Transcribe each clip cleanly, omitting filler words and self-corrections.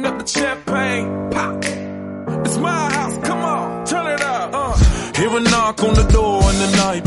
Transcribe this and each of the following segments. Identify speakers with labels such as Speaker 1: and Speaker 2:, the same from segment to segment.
Speaker 1: up the champagne, pop. It's my house, come on, turn it up. Hear a knock on the door and the night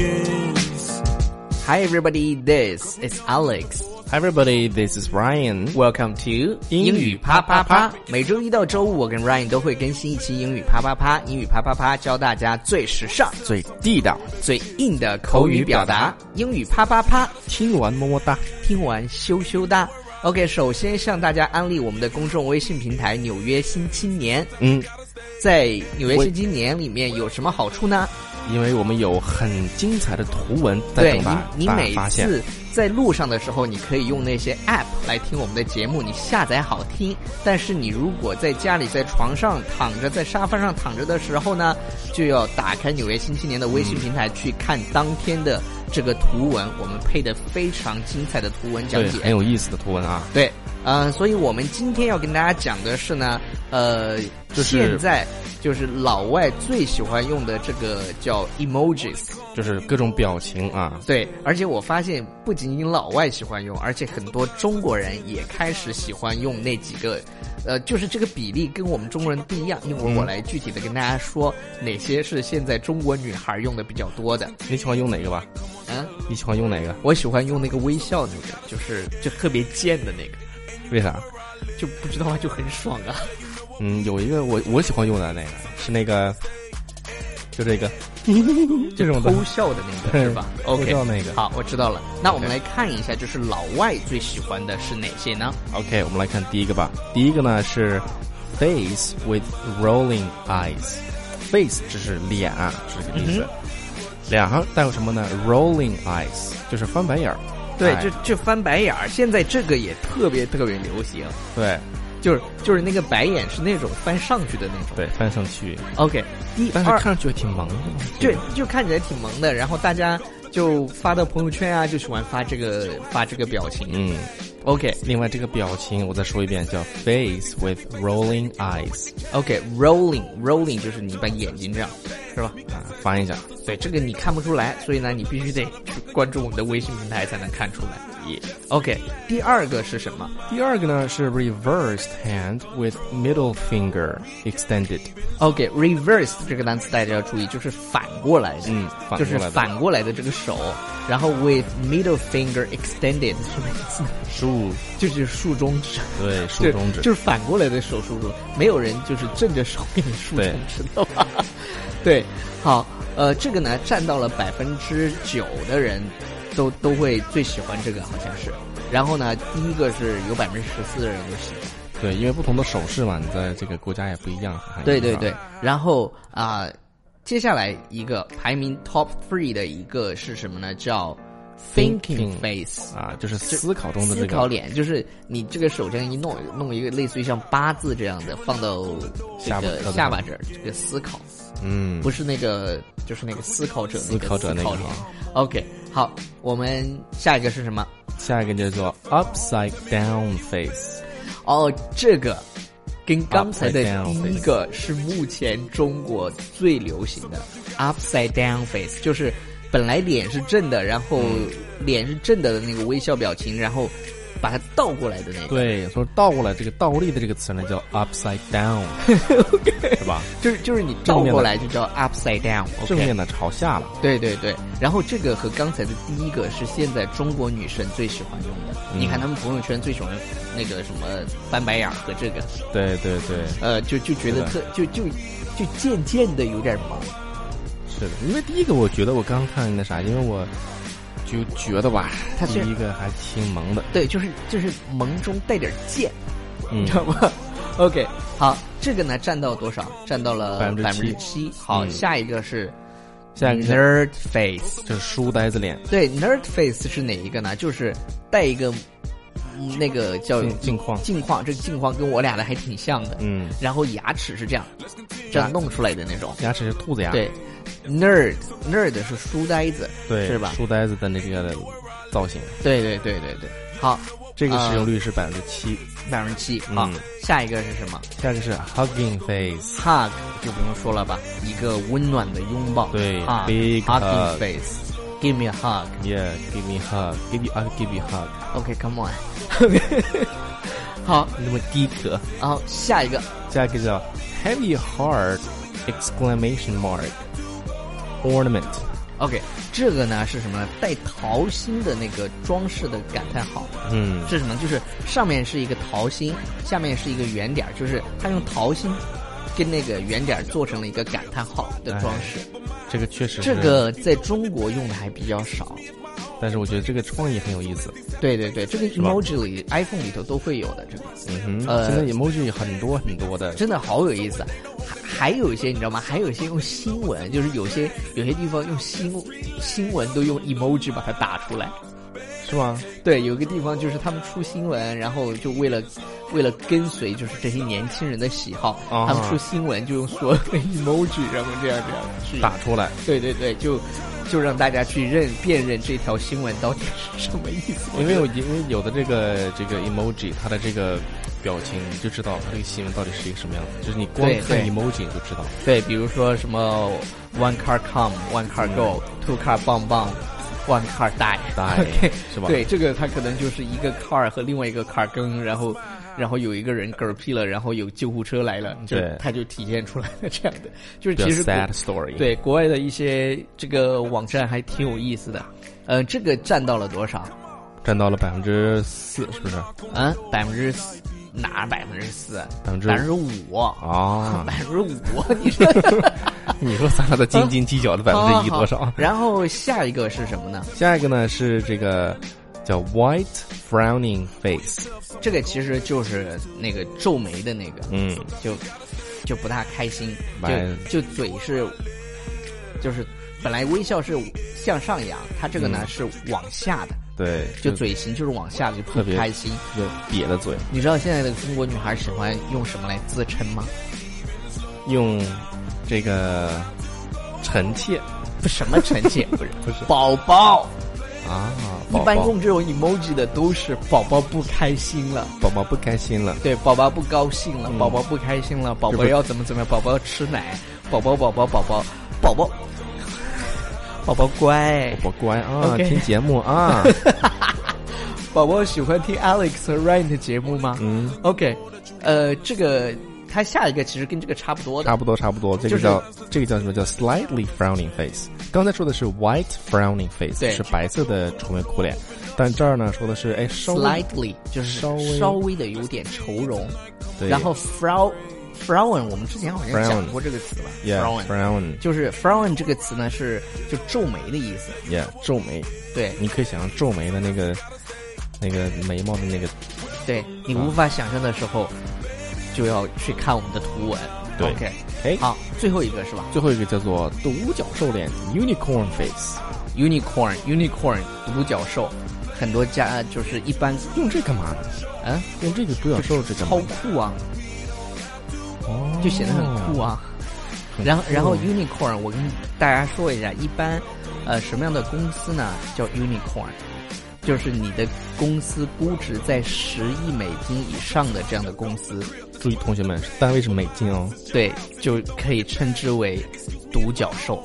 Speaker 1: begins.
Speaker 2: Hi everybody, this is Alex.
Speaker 3: Hi everybody, this is Ryan.
Speaker 2: Welcome to 英语啪啪啪。每周一到周五，我跟 Ryan 都会更新一期英语啪啪啪。英语啪啪啪教大家最时尚、
Speaker 3: 最地道、
Speaker 2: 最硬的口语表达。英语啪啪啪，
Speaker 3: 听完么么哒，
Speaker 2: 听完羞羞哒。OK， 首先向大家安利我们的公众微信平台《纽约新青年》。在《纽约新青年》里面有什么好处呢？
Speaker 3: 因为我们有很精彩的图文在等待
Speaker 2: 你每次在路上的时候，你可以用那些 app 来听我们的节目，你下载好听。但是你如果在家里在床上躺着，在沙发上躺着的时候呢，就要打开纽约新青年的微信平台去看当天的这个图文，我们配的非常精彩的图文讲解，
Speaker 3: 对，很有意思的图文啊。
Speaker 2: 对，所以我们今天要跟大家讲的是呢，现在就是老外最喜欢用的这个叫 emojis，
Speaker 3: 就是各种表情啊。
Speaker 2: 对，而且我发现不仅仅老外喜欢用，而且很多中国人也开始喜欢用那几个，就是这个比例跟我们中国人不一样。一会儿我来具体的跟大家说哪些是现在中国女孩用的比较多的。
Speaker 3: 你喜欢用哪个吧？你喜欢用哪个？
Speaker 2: 我喜欢用那个微笑那个，就特别贱的那个。
Speaker 3: 为啥？
Speaker 2: 就不知道啊，就很爽啊。
Speaker 3: 有一个我喜欢用的那个是那个，就这个这种的
Speaker 2: 偷笑的那个是吧？
Speaker 3: OK， 那个
Speaker 2: 好，我知道了。那我们来看一下，就是老外最喜欢的是哪些呢
Speaker 3: ？OK， 我们来看第一个吧。第一个呢是 face with rolling eyes。face 只是脸啊，是这个意思。脸上带有什么呢 ？rolling eyes 就是翻白眼儿。
Speaker 2: 对，就翻白眼儿。现在这个也特别特别流行。
Speaker 3: 对。
Speaker 2: 就是那个白眼是那种翻上去的那种，
Speaker 3: 对，翻上去。
Speaker 2: OK，
Speaker 3: 但是看上去挺萌的。
Speaker 2: 对，就看起来挺萌的。然后大家就发到朋友圈啊，就喜欢发这个表情。OK，
Speaker 3: 另外这个表情我再说一遍，叫 face with rolling
Speaker 2: eyes。OK，rolling 就是你把眼睛这样，是吧？
Speaker 3: 翻一下。
Speaker 2: 对，这个你看不出来，所以呢，你必须得去关注我们的微信平台才能看出来。OK， 第二个是什么？
Speaker 3: 第二个呢是 reversed hand with middle finger extended。
Speaker 2: OK，reverse 这个单词大家要注意，就是反过来的，就是反过来的这个手，然后 with middle finger extended 是什么意思呢？就是竖中指。对，
Speaker 3: 竖中指
Speaker 2: 就是反过来的手竖中，没有人就是正着手给你竖中指的吧？对，好，这个呢占到了9%的人。都会最喜欢这个，好像是。然后呢，第一个是有14%的人都喜欢。
Speaker 3: 对，因为不同的手势嘛，你在这个国家也不一样。
Speaker 2: 对。然后接下来一个排名 top 3的一个是什么呢？叫 thinking face
Speaker 3: 就是思考中的这个
Speaker 2: 思考脸，就是你这个手这样一弄一个类似于像八字这样的放到这个下巴这儿，这个思考。不是那个，就是那个思考者那个
Speaker 3: 那个。
Speaker 2: OK， 好，我们下一个是什么？
Speaker 3: 下一个叫做 upside down face。
Speaker 2: 这个跟刚才的第一个是目前中国最流行的 upside down face， 就是本来脸是正的，然后脸是正的那个微笑表情，然后把它倒过来的那个。对，
Speaker 3: 所以倒过来这个倒立的这个词呢叫 upside down，
Speaker 2: okay，
Speaker 3: 是吧？
Speaker 2: 就是你倒过来就叫 upside down，
Speaker 3: 正面的朝下了。
Speaker 2: 对。然后这个和刚才的第一个是现在中国女生最喜欢用的。你看他们朋友圈最喜欢那个什么翻白眼和这个。对。就觉得就渐的有点萌。
Speaker 3: 是的，因为第一个我觉得我刚看那啥，因为我就觉得吧，他第一个还挺萌的。对，
Speaker 2: 就是萌中带点贱，你知道吗？OK， 好，这个呢占到多少？占到了7%。好，下一个是 nerd face，
Speaker 3: 就是书呆子脸。
Speaker 2: 对 ，nerd face 是哪一个呢？就是带一个那个叫镜框，这个镜框跟我俩的还挺像的。然后牙齿是这样弄出来的那种。
Speaker 3: 牙齿是兔子牙。对。
Speaker 2: nerd 是书呆子，
Speaker 3: 对，
Speaker 2: 是吧？
Speaker 3: 书呆子的那个造型。对。
Speaker 2: 好，
Speaker 3: 这个使用率是7%。
Speaker 2: 好，下一个是什么？
Speaker 3: 下一个是 hugging face。
Speaker 2: 就不用说了吧，一个温暖的拥抱。
Speaker 3: 对，
Speaker 2: big hugging face。 give me a hug.
Speaker 3: Yeah, give me a hug. I'll give you a hug.
Speaker 2: Okay, come on. 好，
Speaker 3: 那么低格。
Speaker 2: 然后下一个
Speaker 3: 叫 Heavy Heart! Ornament.
Speaker 2: OK， 这个呢是什么？带桃心的那个装饰的感叹号。是什么？就是上面是一个桃心，下面是一个圆点，就是它用桃心跟那个圆点做成了一个感叹号的装饰。
Speaker 3: 这个确实是，
Speaker 2: 这个在中国用的还比较少，
Speaker 3: 但是我觉得这个创意很有意思。
Speaker 2: 对对对，这个 emoji 里 iPhone 里头都会有的这个。
Speaker 3: 现在 emoji 很多很多的，
Speaker 2: 真的好有意思。还有一些你知道吗？还有一些用新闻，就是有些地方用新闻都用 emoji 把它打出来，
Speaker 3: 是吗？
Speaker 2: 对，有个地方就是他们出新闻，然后就为了跟随就是这些年轻人的喜好，他们出新闻就用所有的 emoji， 然后这样去
Speaker 3: 打出来。
Speaker 2: 对对对，就让大家去辨认这条新闻到底是什么意思。
Speaker 3: 因为有的这个 emoji， 它的这个表情你就知道它这个新闻到底是一个什么样子，就是你光看 emoji 你就知道。
Speaker 2: 对，比如说什么 one car come one car go two car bang bang one car die，
Speaker 3: okay， 是吧？
Speaker 2: 对，这个它可能就是一个 car 和另外一个 car 跟，然后有一个人嗝屁了，然后有救护车来了，它就体现出来了这样的，就是其实
Speaker 3: sad story。
Speaker 2: 对，国外的一些这个网站还挺有意思的。这个占到了多少？
Speaker 3: 占到了4%，是不是？
Speaker 2: 4%。哪4%？5%
Speaker 3: 啊
Speaker 2: ！5%，你说，
Speaker 3: 你说咱俩的斤斤计较的1%多少？
Speaker 2: 然后下一个是什么呢？
Speaker 3: 下一个呢是这个叫 white frowning face，
Speaker 2: 这个其实就是那个皱眉的那个，就不大开心，就嘴是，就是本来微笑是向上扬，它这个呢是往下的。
Speaker 3: 对，
Speaker 2: 就嘴型就是往下，就不开心，
Speaker 3: 就瘪的嘴。
Speaker 2: 你知道现在的中国女孩喜欢用什么来自称吗？
Speaker 3: 用这个臣妾，
Speaker 2: 什么臣妾？不是宝宝
Speaker 3: 啊！
Speaker 2: 一般用这种 emoji 的都是宝宝不开心了，
Speaker 3: 宝宝不开心了，
Speaker 2: 对，宝宝不高兴了，宝宝不开心了，宝宝要怎么样？宝宝要吃奶，宝宝乖，
Speaker 3: 宝宝乖啊， okay， 听节目啊。
Speaker 2: 宝宝喜欢听 Alex 和 Ryan 的节目吗？OK， 这个它下一个其实跟这个差不多的，
Speaker 3: 差不多。这个叫什么？叫 slightly frowning face。刚才说的是 white frowning face， 是白色的愁眉苦脸，但这儿呢说的是
Speaker 2: slightly 就是稍微的有点愁容，
Speaker 3: 对，
Speaker 2: 然后 frown 我们之前好像讲过这个词吧
Speaker 3: frown
Speaker 2: 就是 frown 这个词呢是就皱眉的意思。
Speaker 3: 皱眉。对，你可以想象皱眉的那个眉毛的那个，
Speaker 2: 对，你无法想象的时候就要去看我们的图文。
Speaker 3: 对
Speaker 2: OK， 好，最后一个是吧？
Speaker 3: 最后一个叫做独角兽脸 unicorn face。
Speaker 2: unicorn 独角兽，很多家就是一般
Speaker 3: 用这干嘛呢？用这个独角兽这干嘛？
Speaker 2: 超酷啊，就显得很酷啊。然后 unicorn 我跟大家说一下，一般什么样的公司呢叫 unicorn， 就是你的公司估值在10亿美金以上的这样的公司。
Speaker 3: 注意同学们，单位是美金哦。
Speaker 2: 对，就可以称之为独角兽。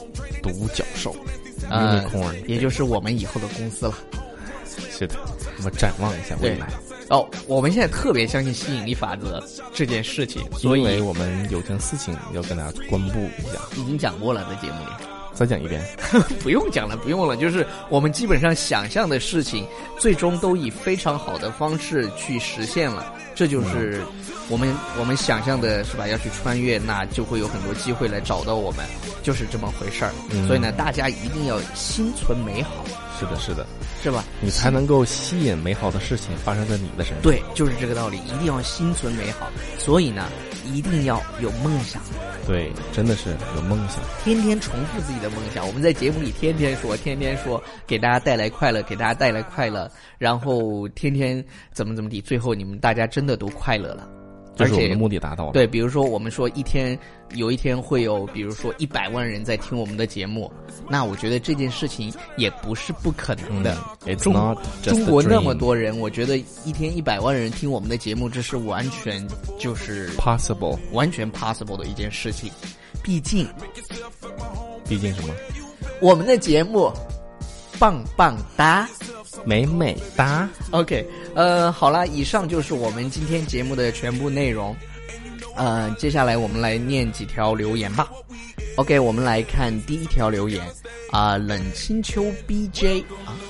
Speaker 3: unicorn
Speaker 2: 也就是我们以后的公司了。
Speaker 3: 是的，我们展望一下未来。
Speaker 2: 我们现在特别相信吸引力法则这件事情，所以
Speaker 3: 因为我们有件事情要跟大家公布一下。
Speaker 2: 已经讲过了，在节目里。
Speaker 3: 再讲一遍。
Speaker 2: 不用讲了，就是我们基本上想象的事情，最终都以非常好的方式去实现了。这就是我们想象的是吧？要去穿越，那就会有很多机会来找到我们，就是这么回事儿。所以呢，大家一定要心存美好。
Speaker 3: 是的，
Speaker 2: 是吧？
Speaker 3: 你才能够吸引美好的事情发生在你的身上。
Speaker 2: 对，就是这个道理，一定要心存美好。所以呢，一定要有梦想。
Speaker 3: 对，真的是有梦想，
Speaker 2: 天天重复自己的梦想。我们在节目里天天说，给大家带来快乐，然后天天怎么地，最后你们大家真的都快乐了。
Speaker 3: 就是我们的目的达到了。
Speaker 2: 对，比如说我们说有一天会有，比如说100万人在听我们的节目，那我觉得这件事情也不是不可能的。中国那么多人，我觉得一天100万人听我们的节目，这是完全就是完全 possible 的一件事情。毕竟
Speaker 3: 什么？
Speaker 2: 我们的节目棒棒哒，
Speaker 3: 美美哒。
Speaker 2: OK， 好了，以上就是我们今天节目的全部内容。接下来我们来念几条留言吧。OK， 我们来看第一条留言冷清秋 BJ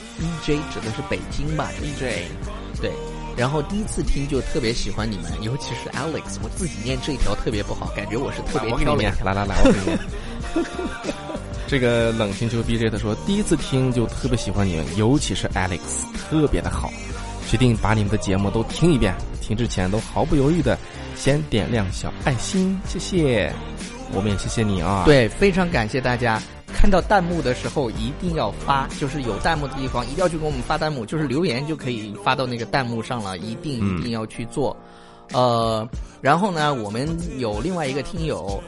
Speaker 2: BJ 指的是北京吧 BJ 对，然后第一次听就特别喜欢你们，尤其是 Alex， 我自己念这一条特别不好，感觉我是特别挑了一条。
Speaker 3: 来，我给你念。这个冷清秋 BJ 他说，第一次听就特别喜欢你们，尤其是 Alex， 特别的好，决定把你们的节目都听一遍，听之前都毫不犹豫的先点亮小爱心，谢谢。我们也谢谢你啊。
Speaker 2: 对，非常感谢大家。看到弹幕的时候一定要发，就是有弹幕的地方一定要去给我们发弹幕，就是留言就可以发到那个弹幕上了，一定要去做。然后呢，我们有另外一个听友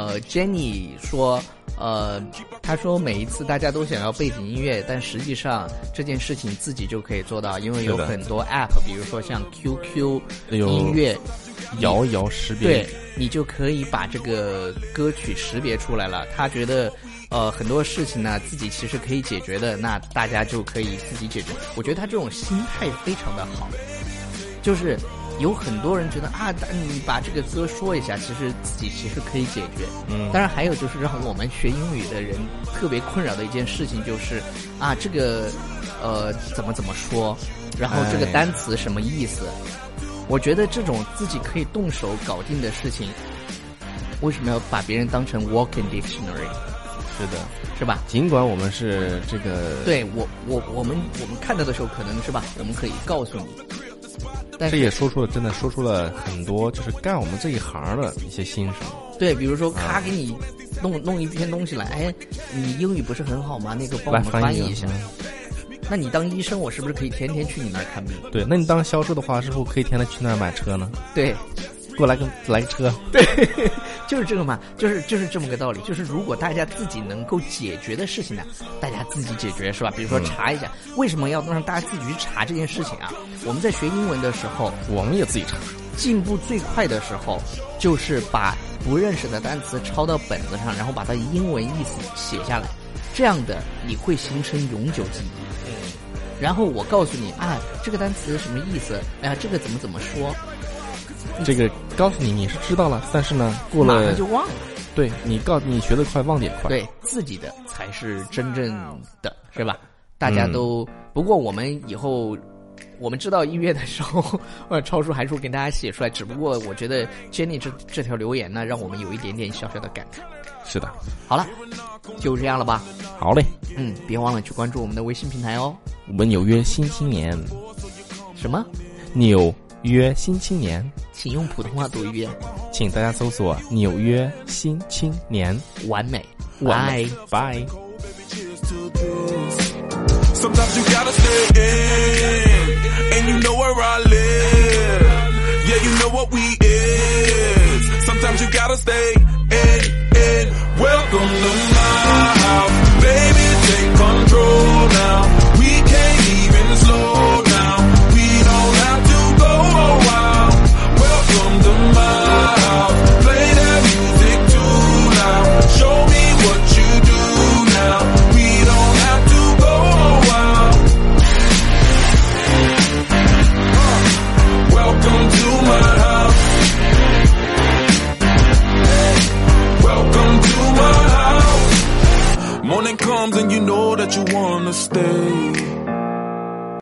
Speaker 2: Jenny 说他说每一次大家都想要背景音乐，但实际上这件事情自己就可以做到，因为有很多 app， 比如说像 QQ 音乐
Speaker 3: 摇摇识别，
Speaker 2: 对，你就可以把这个歌曲识别出来了。他觉得很多事情呢自己其实可以解决的，那大家就可以自己解决。我觉得他这种心态非常的好，就是有很多人觉得你把这个歌说一下，其实自己其实可以解决。当然还有就是让我们学英语的人特别困扰的一件事情就是这个怎么说，然后这个单词什么意思。我觉得这种自己可以动手搞定的事情，为什么要把别人当成 walking dictionary？
Speaker 3: 是的，
Speaker 2: 是吧？
Speaker 3: 尽管我们是这个，
Speaker 2: 对我们看到的时候可能是吧，我们可以告诉你。但是
Speaker 3: 这也真的说出了很多就是干我们这一行的一些心声。
Speaker 2: 对，比如说他给你弄一篇东西来，你英语不是很好吗？那个帮我们翻译一下。那你当医生，我是不是可以天天去你那儿看病？
Speaker 3: 对，那你当销售的话，是不是可以天天去那儿买车呢？
Speaker 2: 对，
Speaker 3: 给我来个车。
Speaker 2: 对，就是这个嘛，就是这么个道理。就是如果大家自己能够解决的事情呢，大家自己解决是吧？比如说查一下，为什么要让大家自己去查这件事情啊？我们在学英文的时候，
Speaker 3: 我们也自己查。
Speaker 2: 进步最快的时候，就是把不认识的单词抄到本子上，然后把它英文意思写下来，这样的你会形成永久记忆。然后我告诉你这个单词什么意思？这个怎么说？
Speaker 3: 这个告诉你是知道了，但是呢，过了
Speaker 2: 马上就忘了。
Speaker 3: 对，你学得快，忘得也快。
Speaker 2: 对，自己的才是真正的，是吧？大家都不过我们以后我们知道音乐的时候，超叔还说给大家写出来。只不过我觉得 Jenny 这条留言呢，让我们有一点点小小的感慨。
Speaker 3: 是的，
Speaker 2: 好了，就这样了吧。
Speaker 3: 好嘞，
Speaker 2: 别忘了去关注我们的微信平台哦。
Speaker 3: 我们纽约新青年。
Speaker 2: 什么？
Speaker 3: 纽约新青年？
Speaker 2: 请用普通话读一遍。
Speaker 3: 请大家搜索纽约新青年。
Speaker 2: 完美，
Speaker 3: 拜拜。
Speaker 1: Sometimes you gotta stay in.